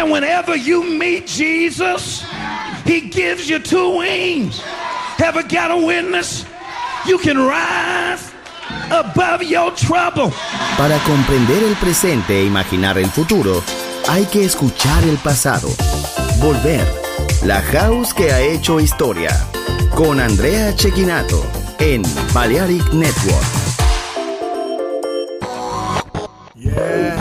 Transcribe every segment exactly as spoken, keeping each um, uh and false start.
And whenever you meet Jesus, he gives you two wings. Ever got a witness? You can rise above your trouble. Para comprender el presente e imaginar el futuro, hay que escuchar el pasado. Volver. La House que ha hecho historia. Con Andrea Cecchinato en Balearic Network. Yeah.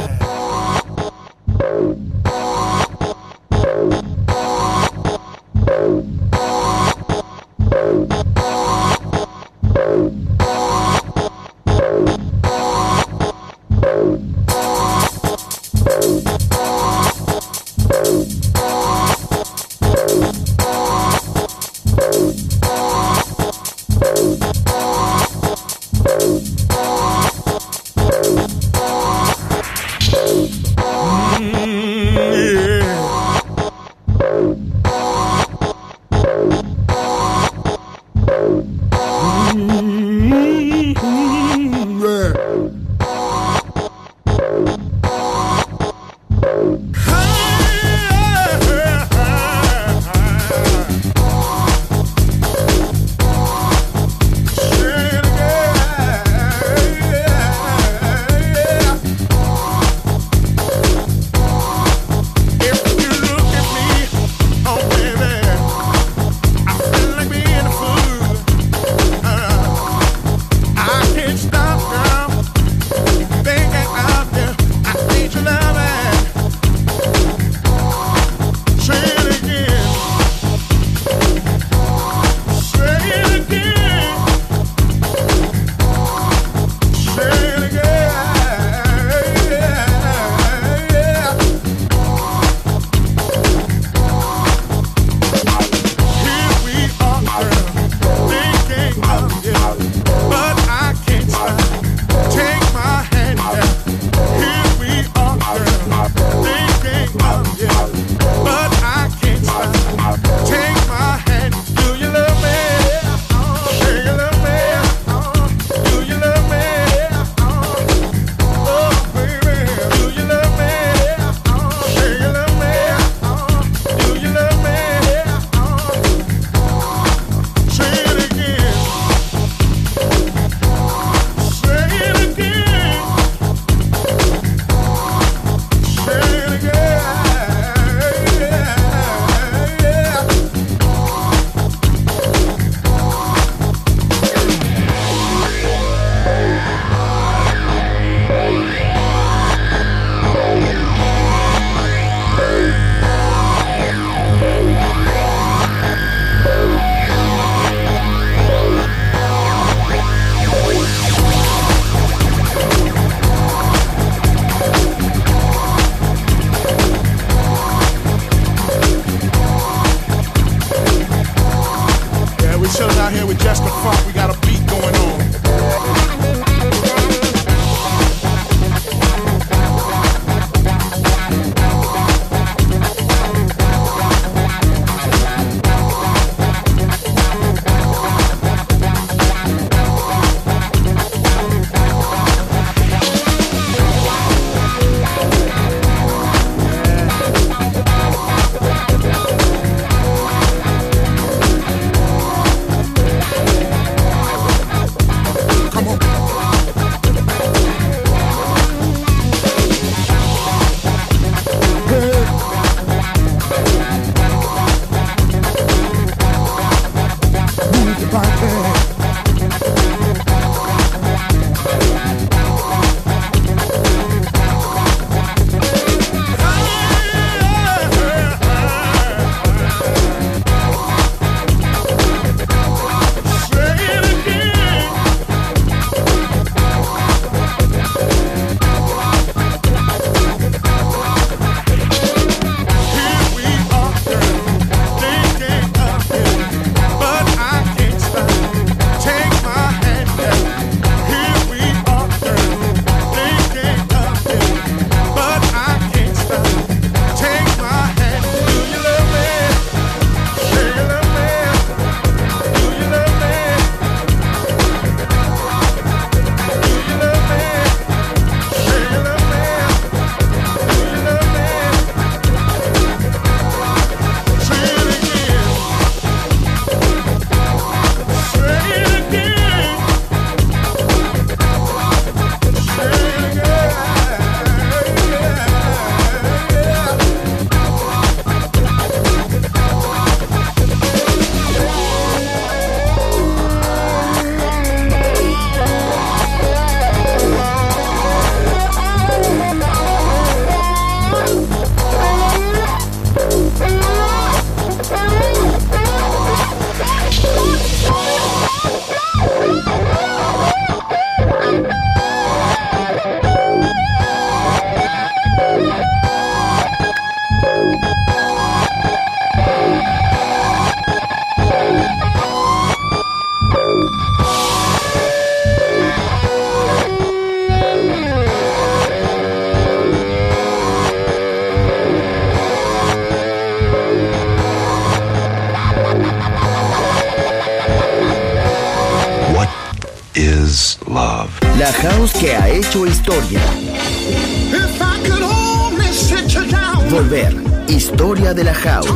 is love. La house que ha hecho historia. If I could only sit you down. Volver, historia de la house.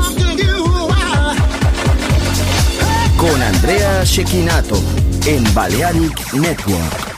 Con Andrea Cecchinato en Balearic Network.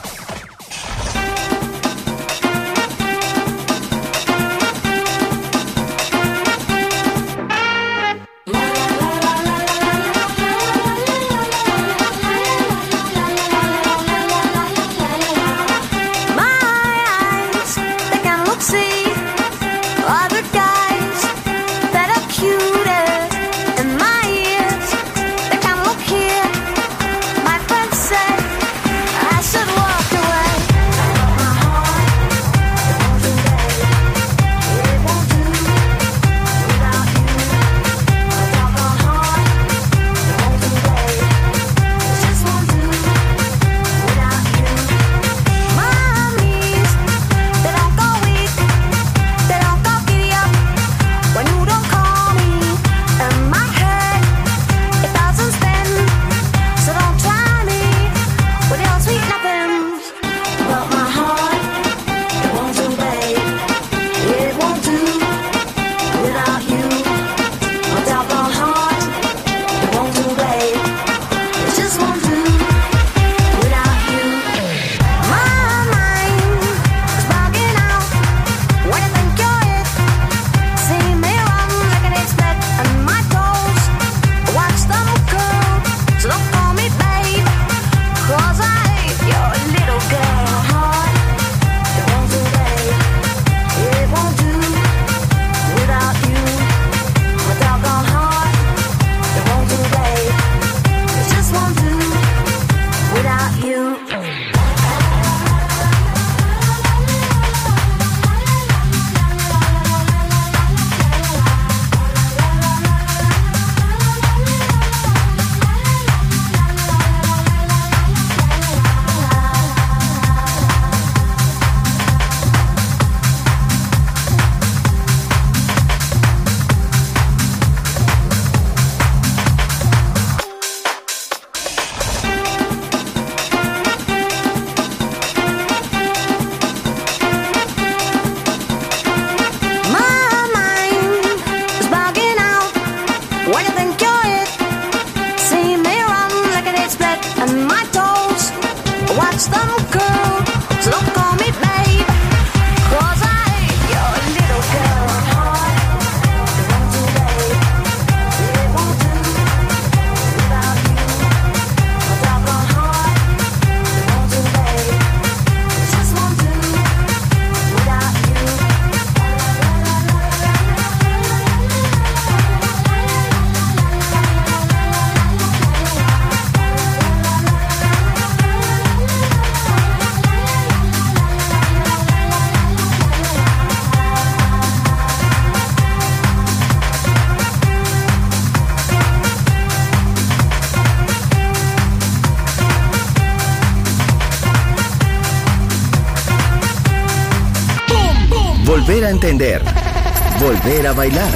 Volver a entender. Volver a bailar.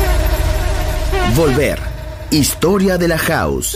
Volver. Historia de la house.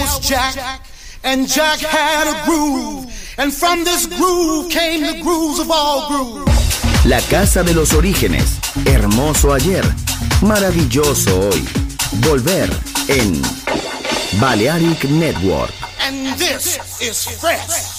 was Jack, and Jack had a groove, and from this groove came the grooves of all grooves. La casa de los orígenes, hermoso ayer, maravilloso hoy. Volver en Balearic Network. And this is fresh.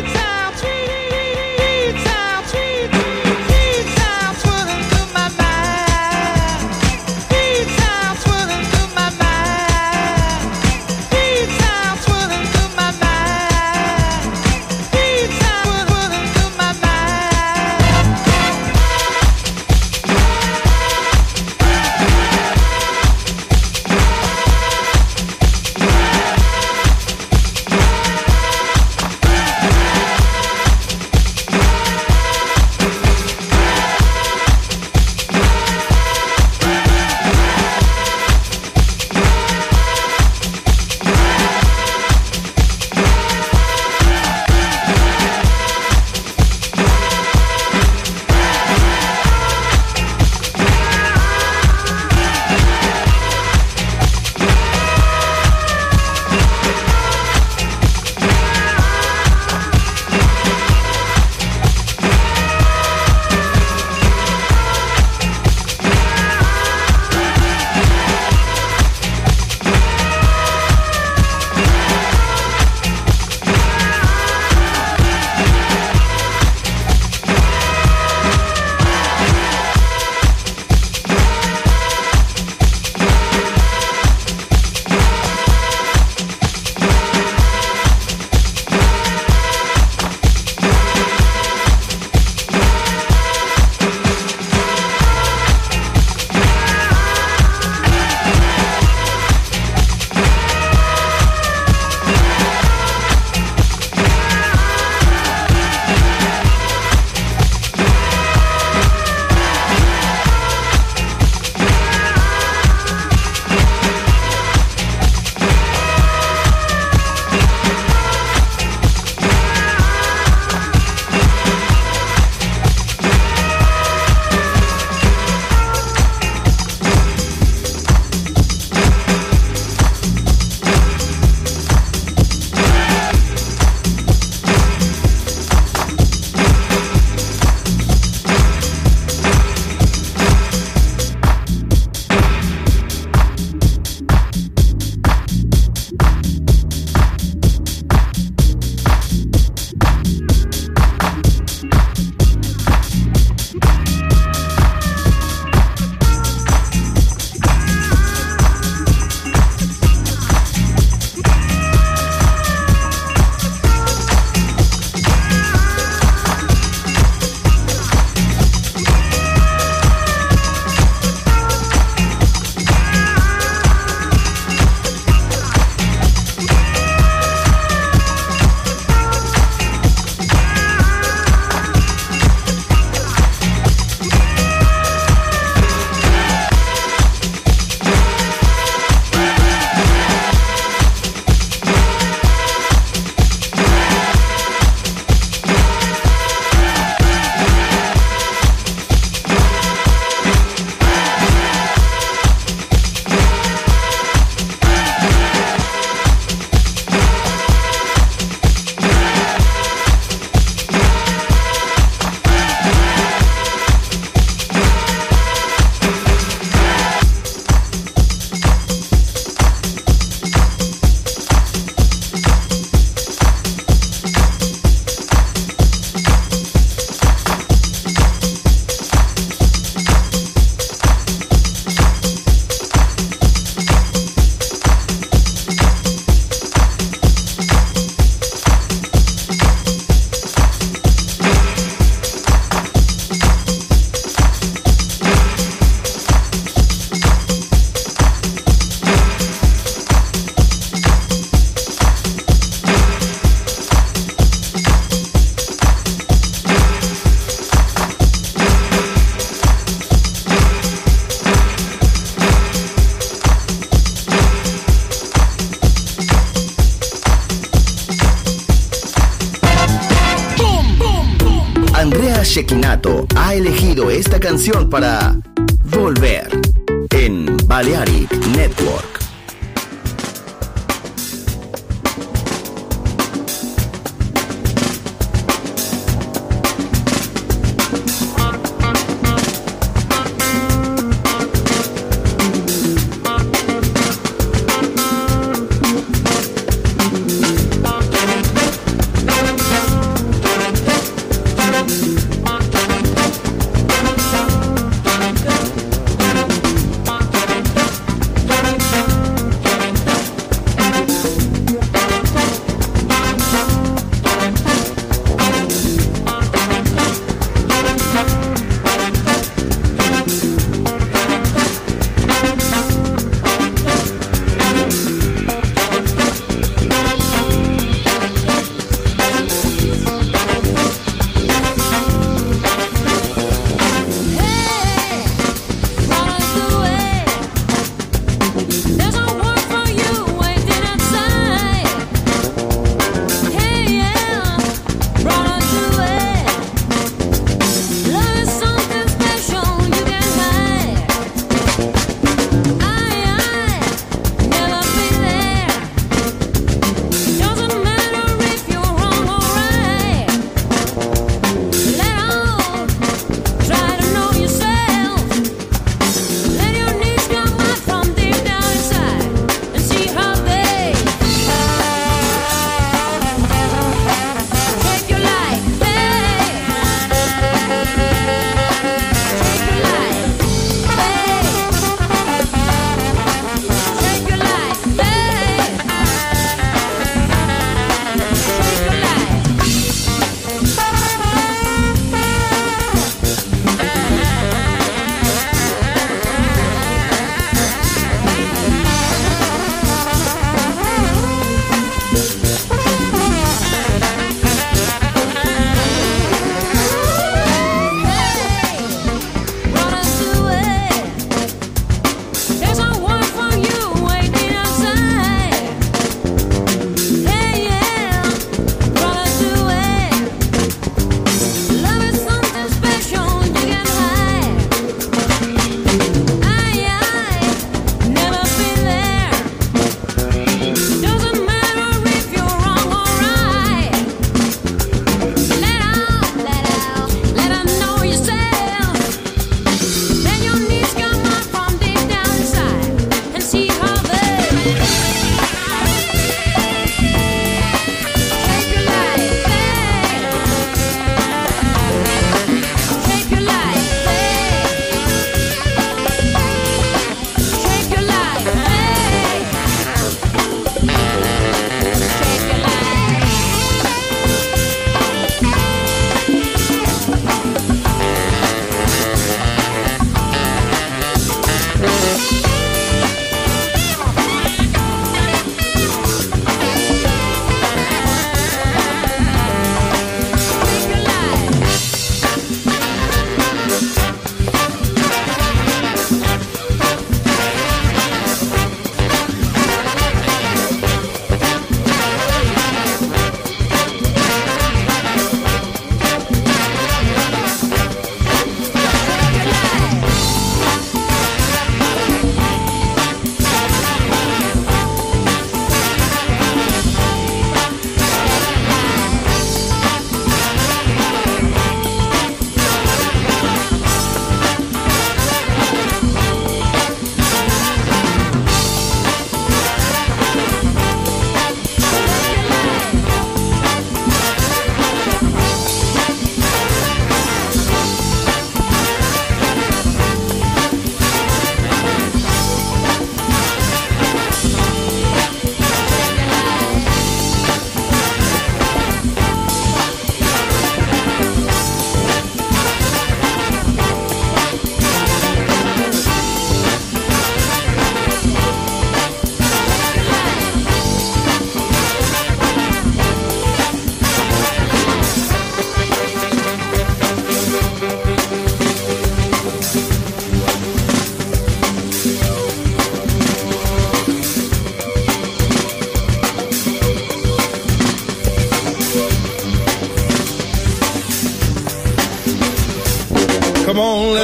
Shekinato ha elegido esta canción para Volver en Balearic Network.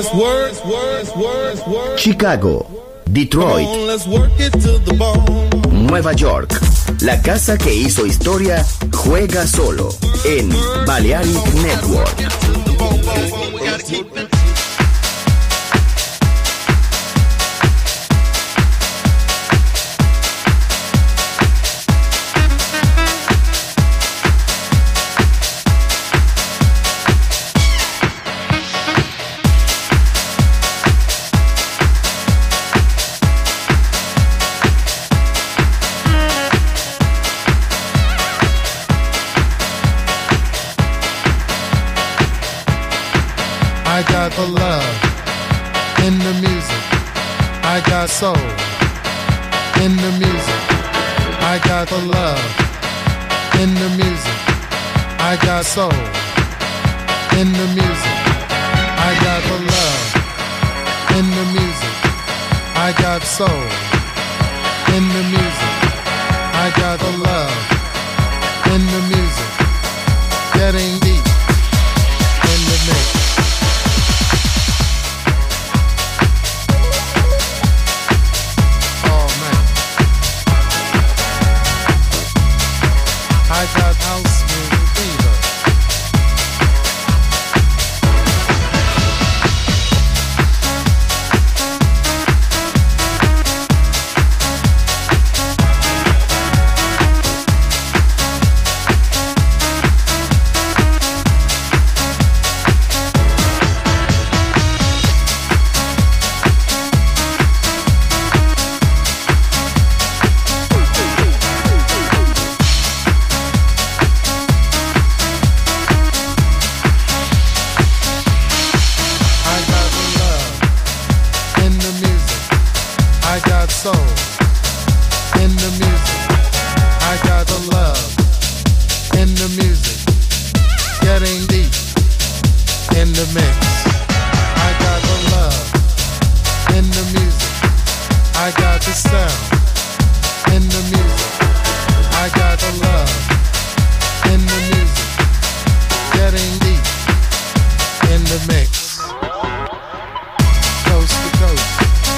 let's work, work, work, work. Chicago, Detroit, Come on, let's work it to the bone. Nueva York. La casa que hizo historia juega solo en Balearic Network. I got the love in the music. I got soul in the music. I got the love in the music. I got soul in the music. I got the love in the music. I got soul in the music. I got the love in the music. Getting deep in the mix. I got house music fever. Soul in the music. I got the love in the music. Getting deep in the mix. I got the love in the music. I got the sound in the music. I got the love in the music. Getting deep in the mix. Coast to coast.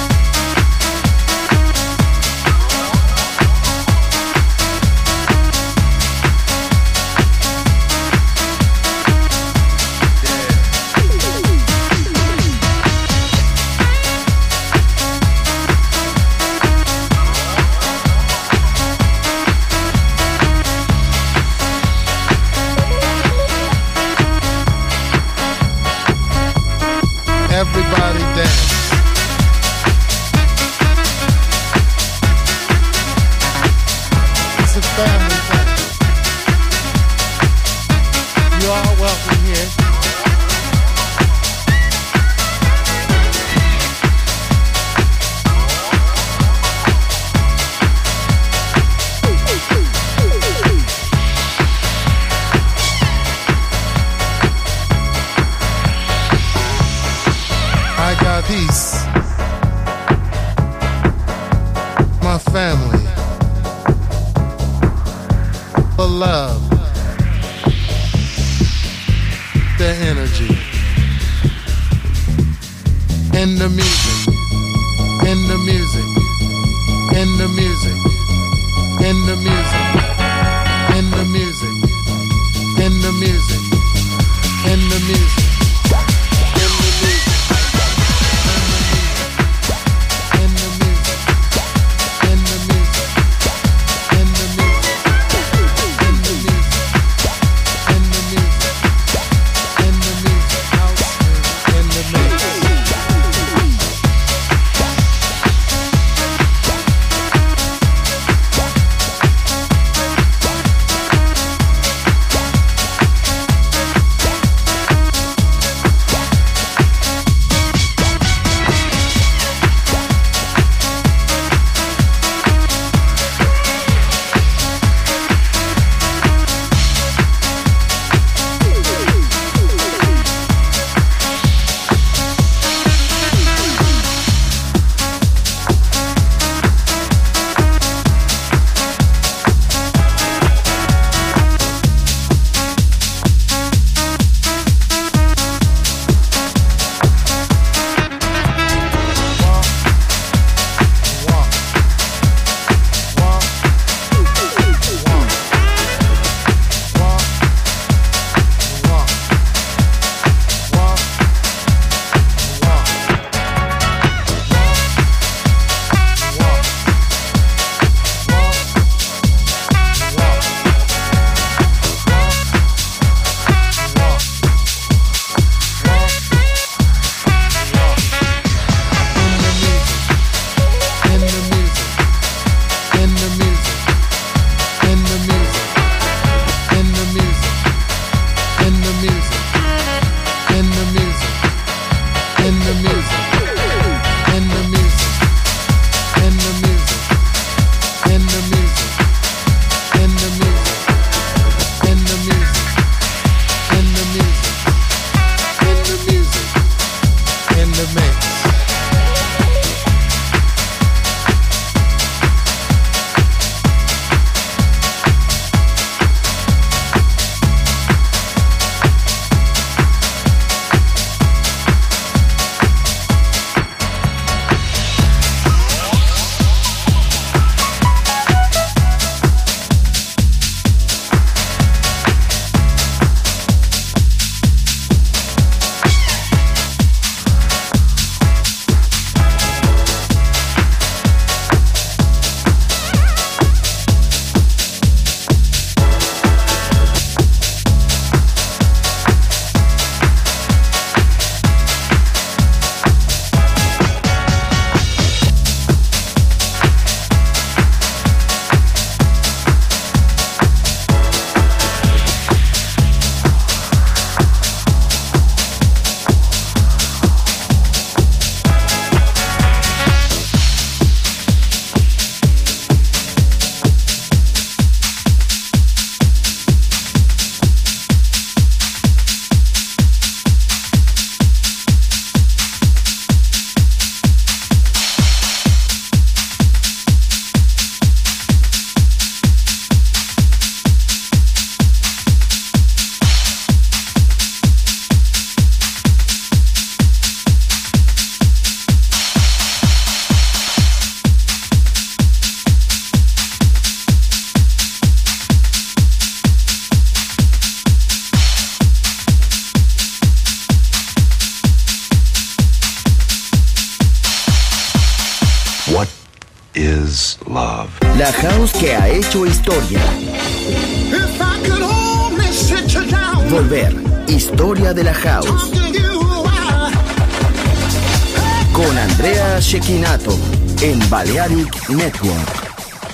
Everybody dance. It's a family thing. You are welcome here. I got peace, my family, the love, the energy, in the music, in the music, in the music, in the music, in the music, in the music, in the music. is love. La house que ha hecho historia. If I could only sit you down. Volver. Historia de la house. Con Andrea Cecchinato en Balearic Network.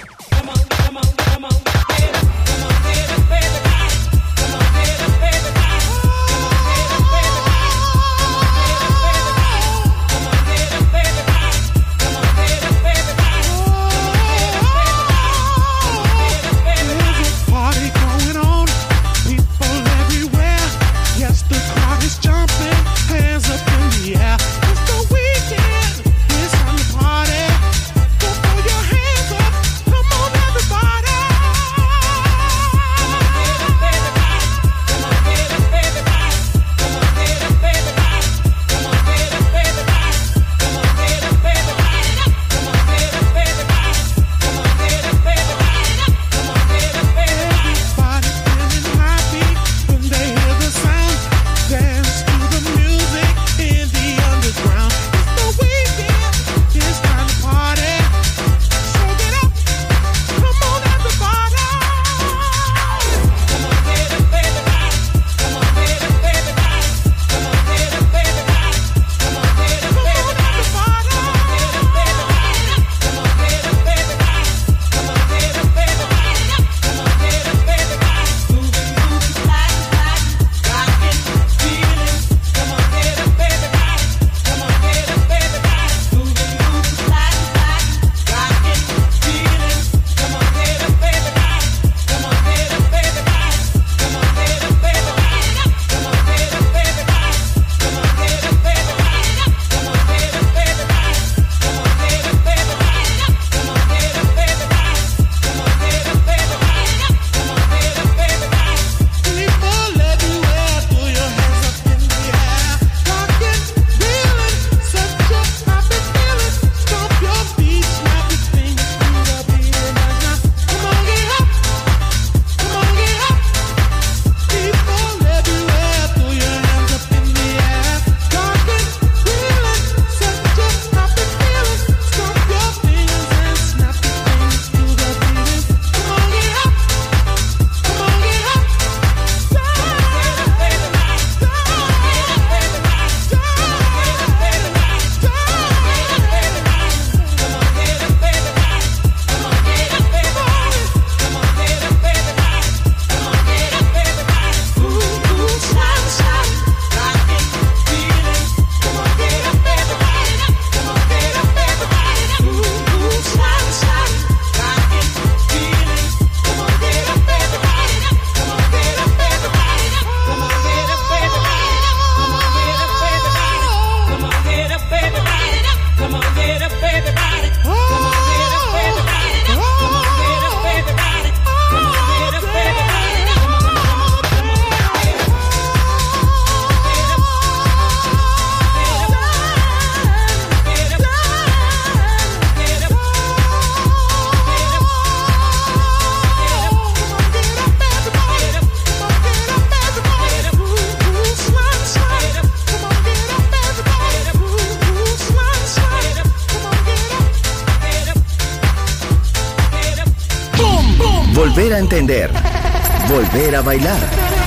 Volver a entender. Volver a bailar.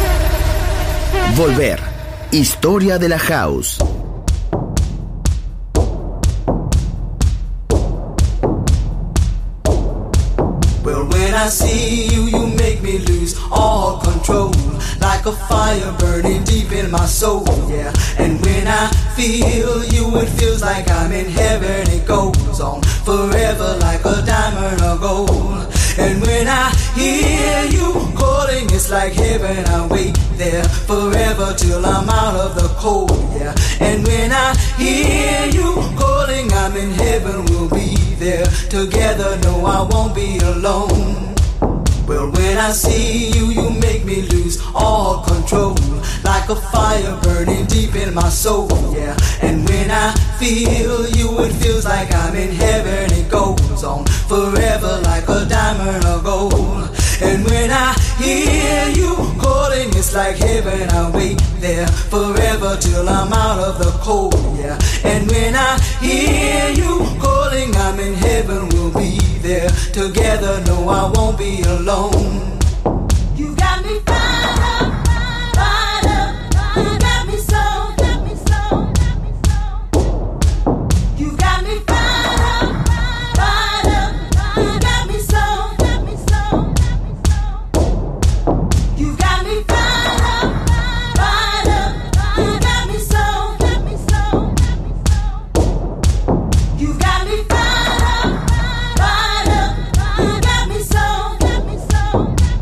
Volver. Historia de la house. Well, when I see you, you make me lose all control. Like a fire burning deep in my soul, yeah. And when I feel you, it feels like I'm in heaven. It goes on forever like a diamond or gold. And when I hear you calling, it's like heaven. I wait there forever till I'm out of the cold, yeah. And when I hear you calling, I'm in heaven. We'll be there together. No, I won't be alone. Well, when I see you, you make me lose all control. Like a fire burning deep in my soul, yeah. And when I feel you, it feels like I'm in heaven. It goes on forever like a diamond or gold. And when I hear you calling, it's like heaven. I wait there forever till I'm out of the cold, yeah. And when I hear you calling, I'm in heaven. We'll be together, no, I won't be alone. You got me fired up, fired up. You got me so, got me so, got me so. You got me fired up, fired up. You got me so, got me so, got me so. You got me fired up, fired up. You got me so, got me so, got me so. You got me fired up, fired up. You got me so, got me so, got me so.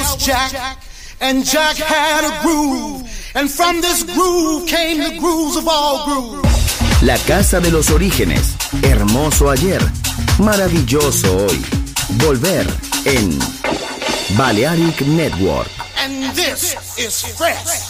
was Jack, and Jack had a groove, and from this groove came the grooves of all grooves. La casa de los orígenes, hermoso ayer, maravilloso hoy. Volver en Balearic Network. And this is fresh.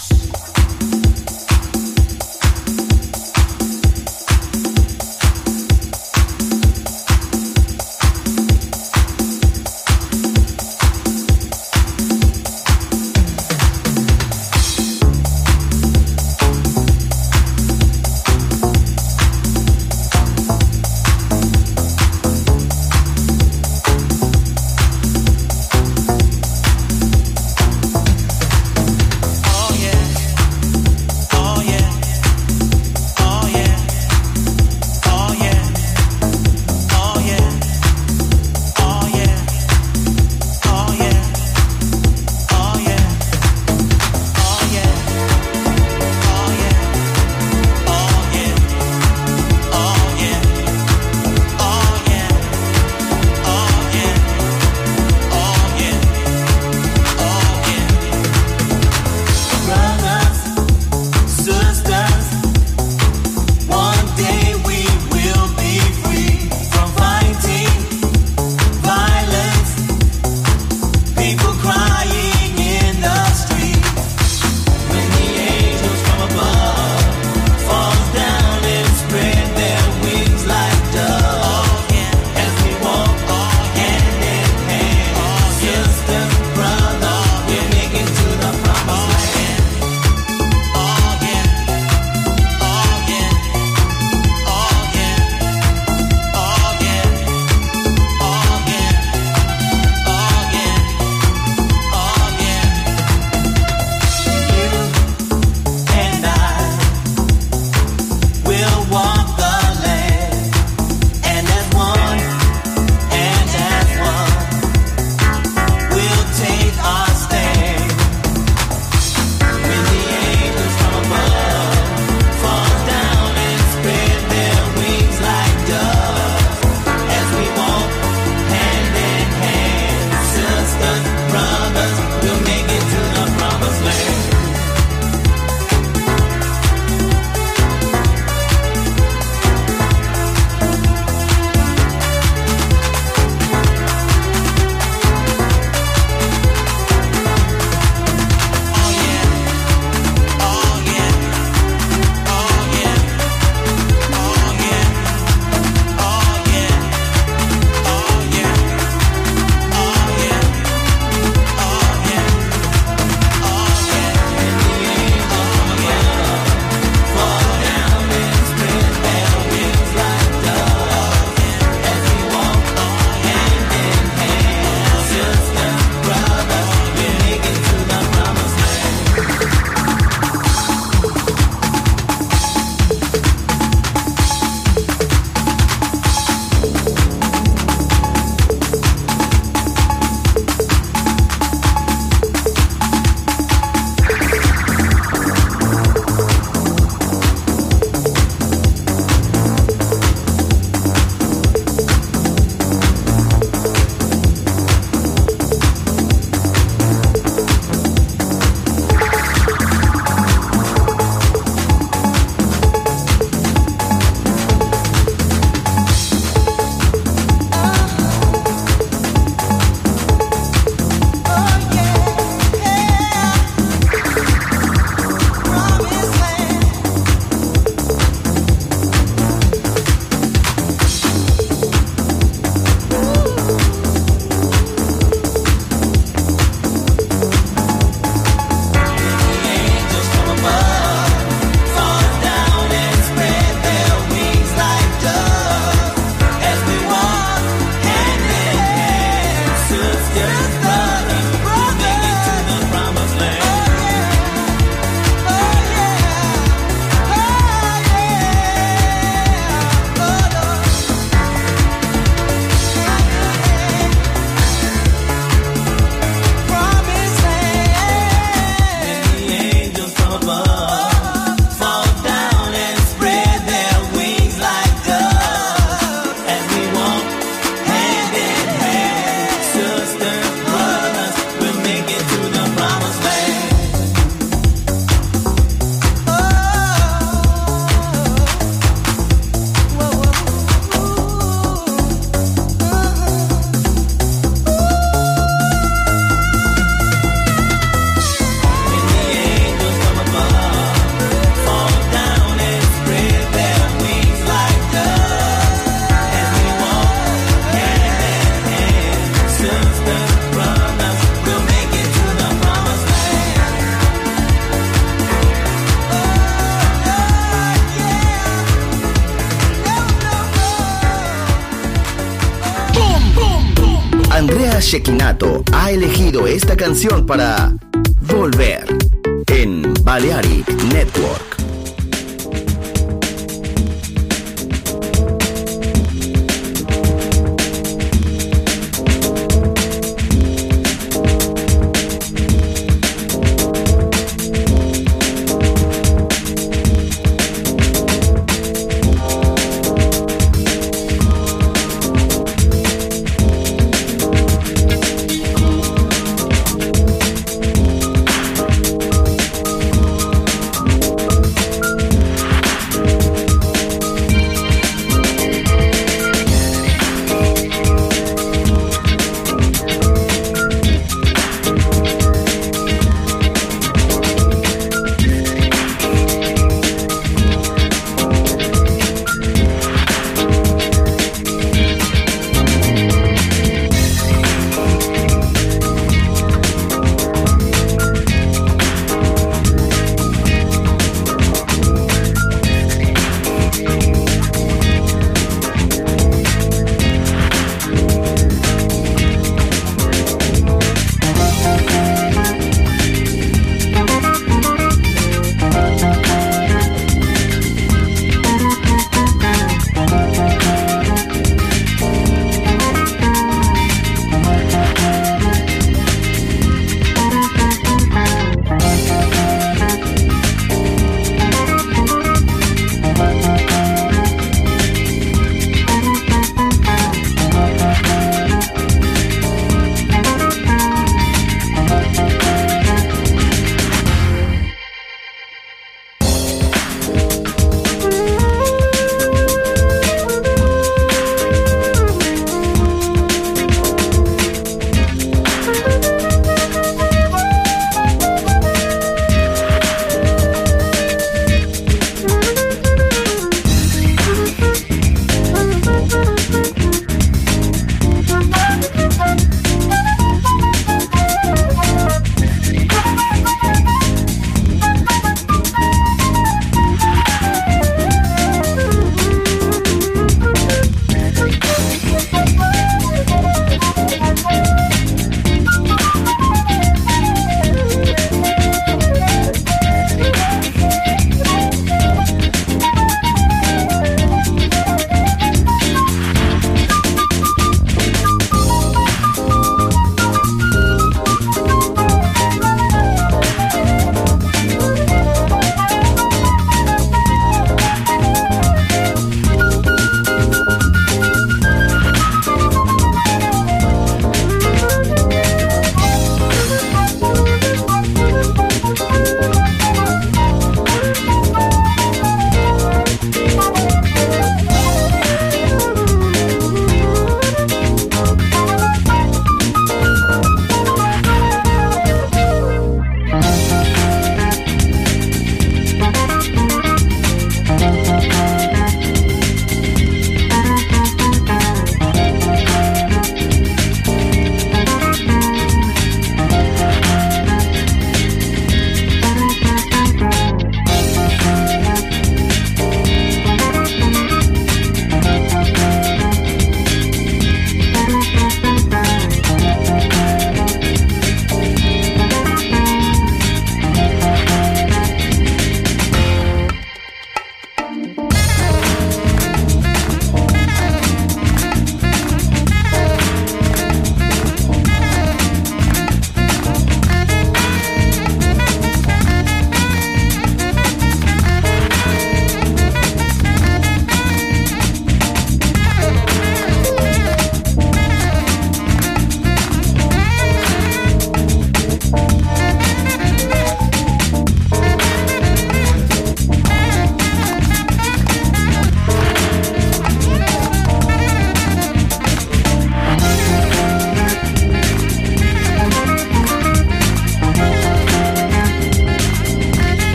Oh yeah. Andrea Cecchinato ha elegido esta canción para Volver en Balearic Network.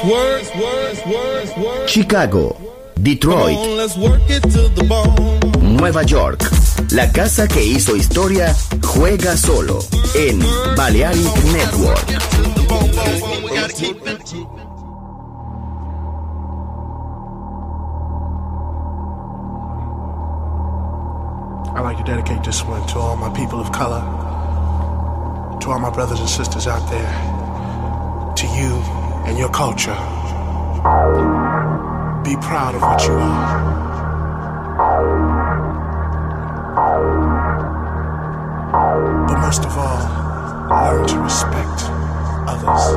That's words, words, words, words. Chicago, Detroit, Come on, let's work it to the bone. Nueva York. La casa que hizo historia juega solo en Balearic Network. I'd like to dedicate this one to all my people of color, to all my brothers and sisters out there, to you and your culture. Be proud of what you are. But most of all, learn to respect others.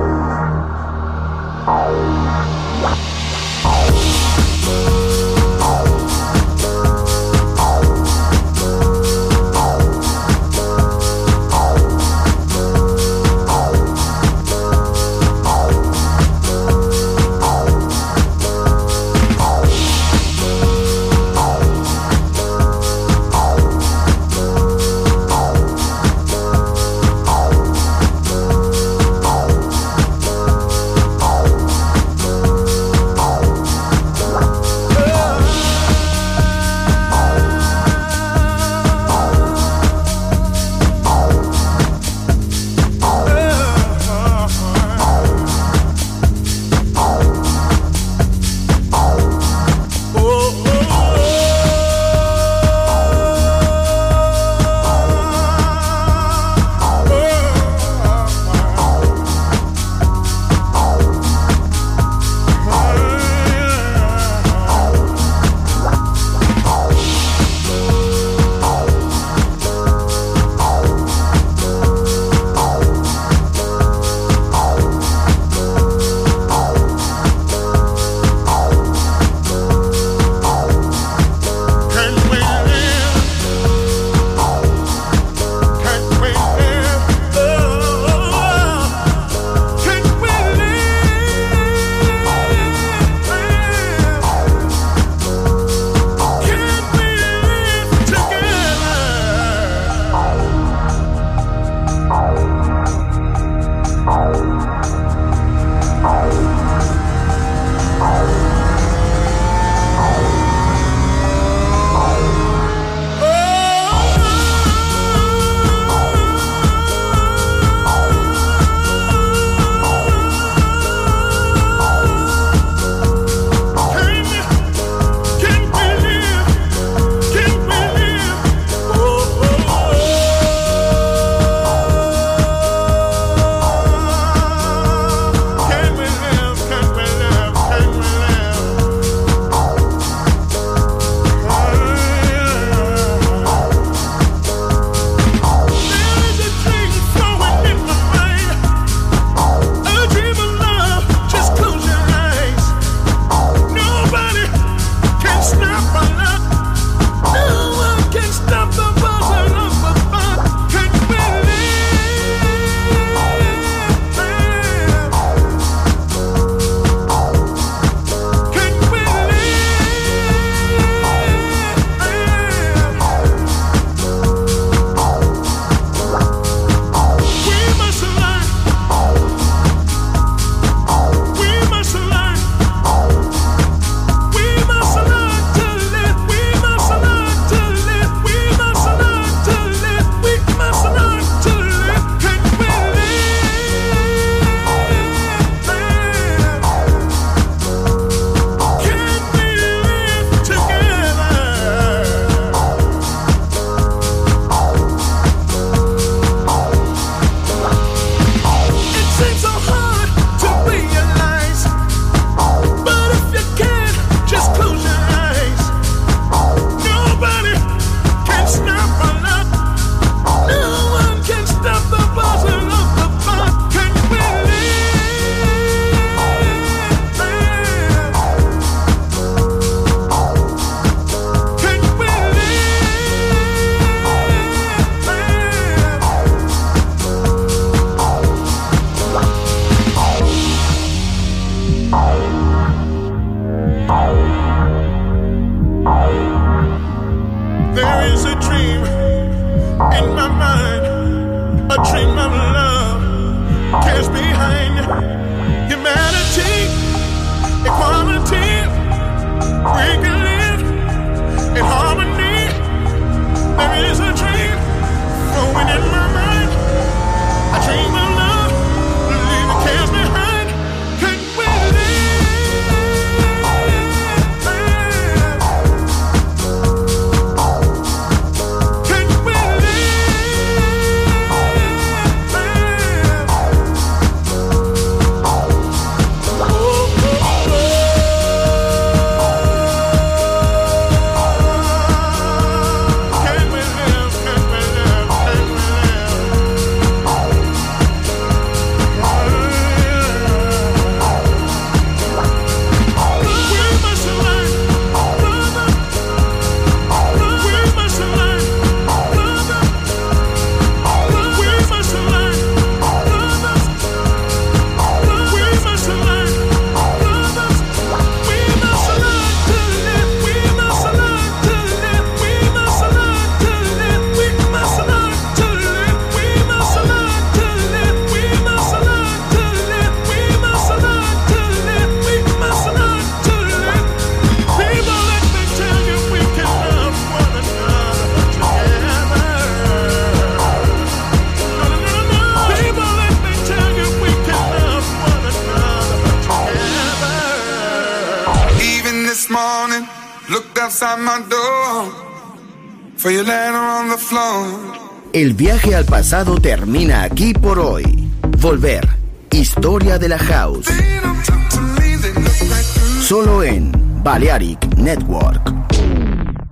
a dream of love cares behind humanity. outside my door, for you laying on the floor. El viaje al pasado termina aquí por hoy. Volver. Historia de la House. Solo en Balearic Network.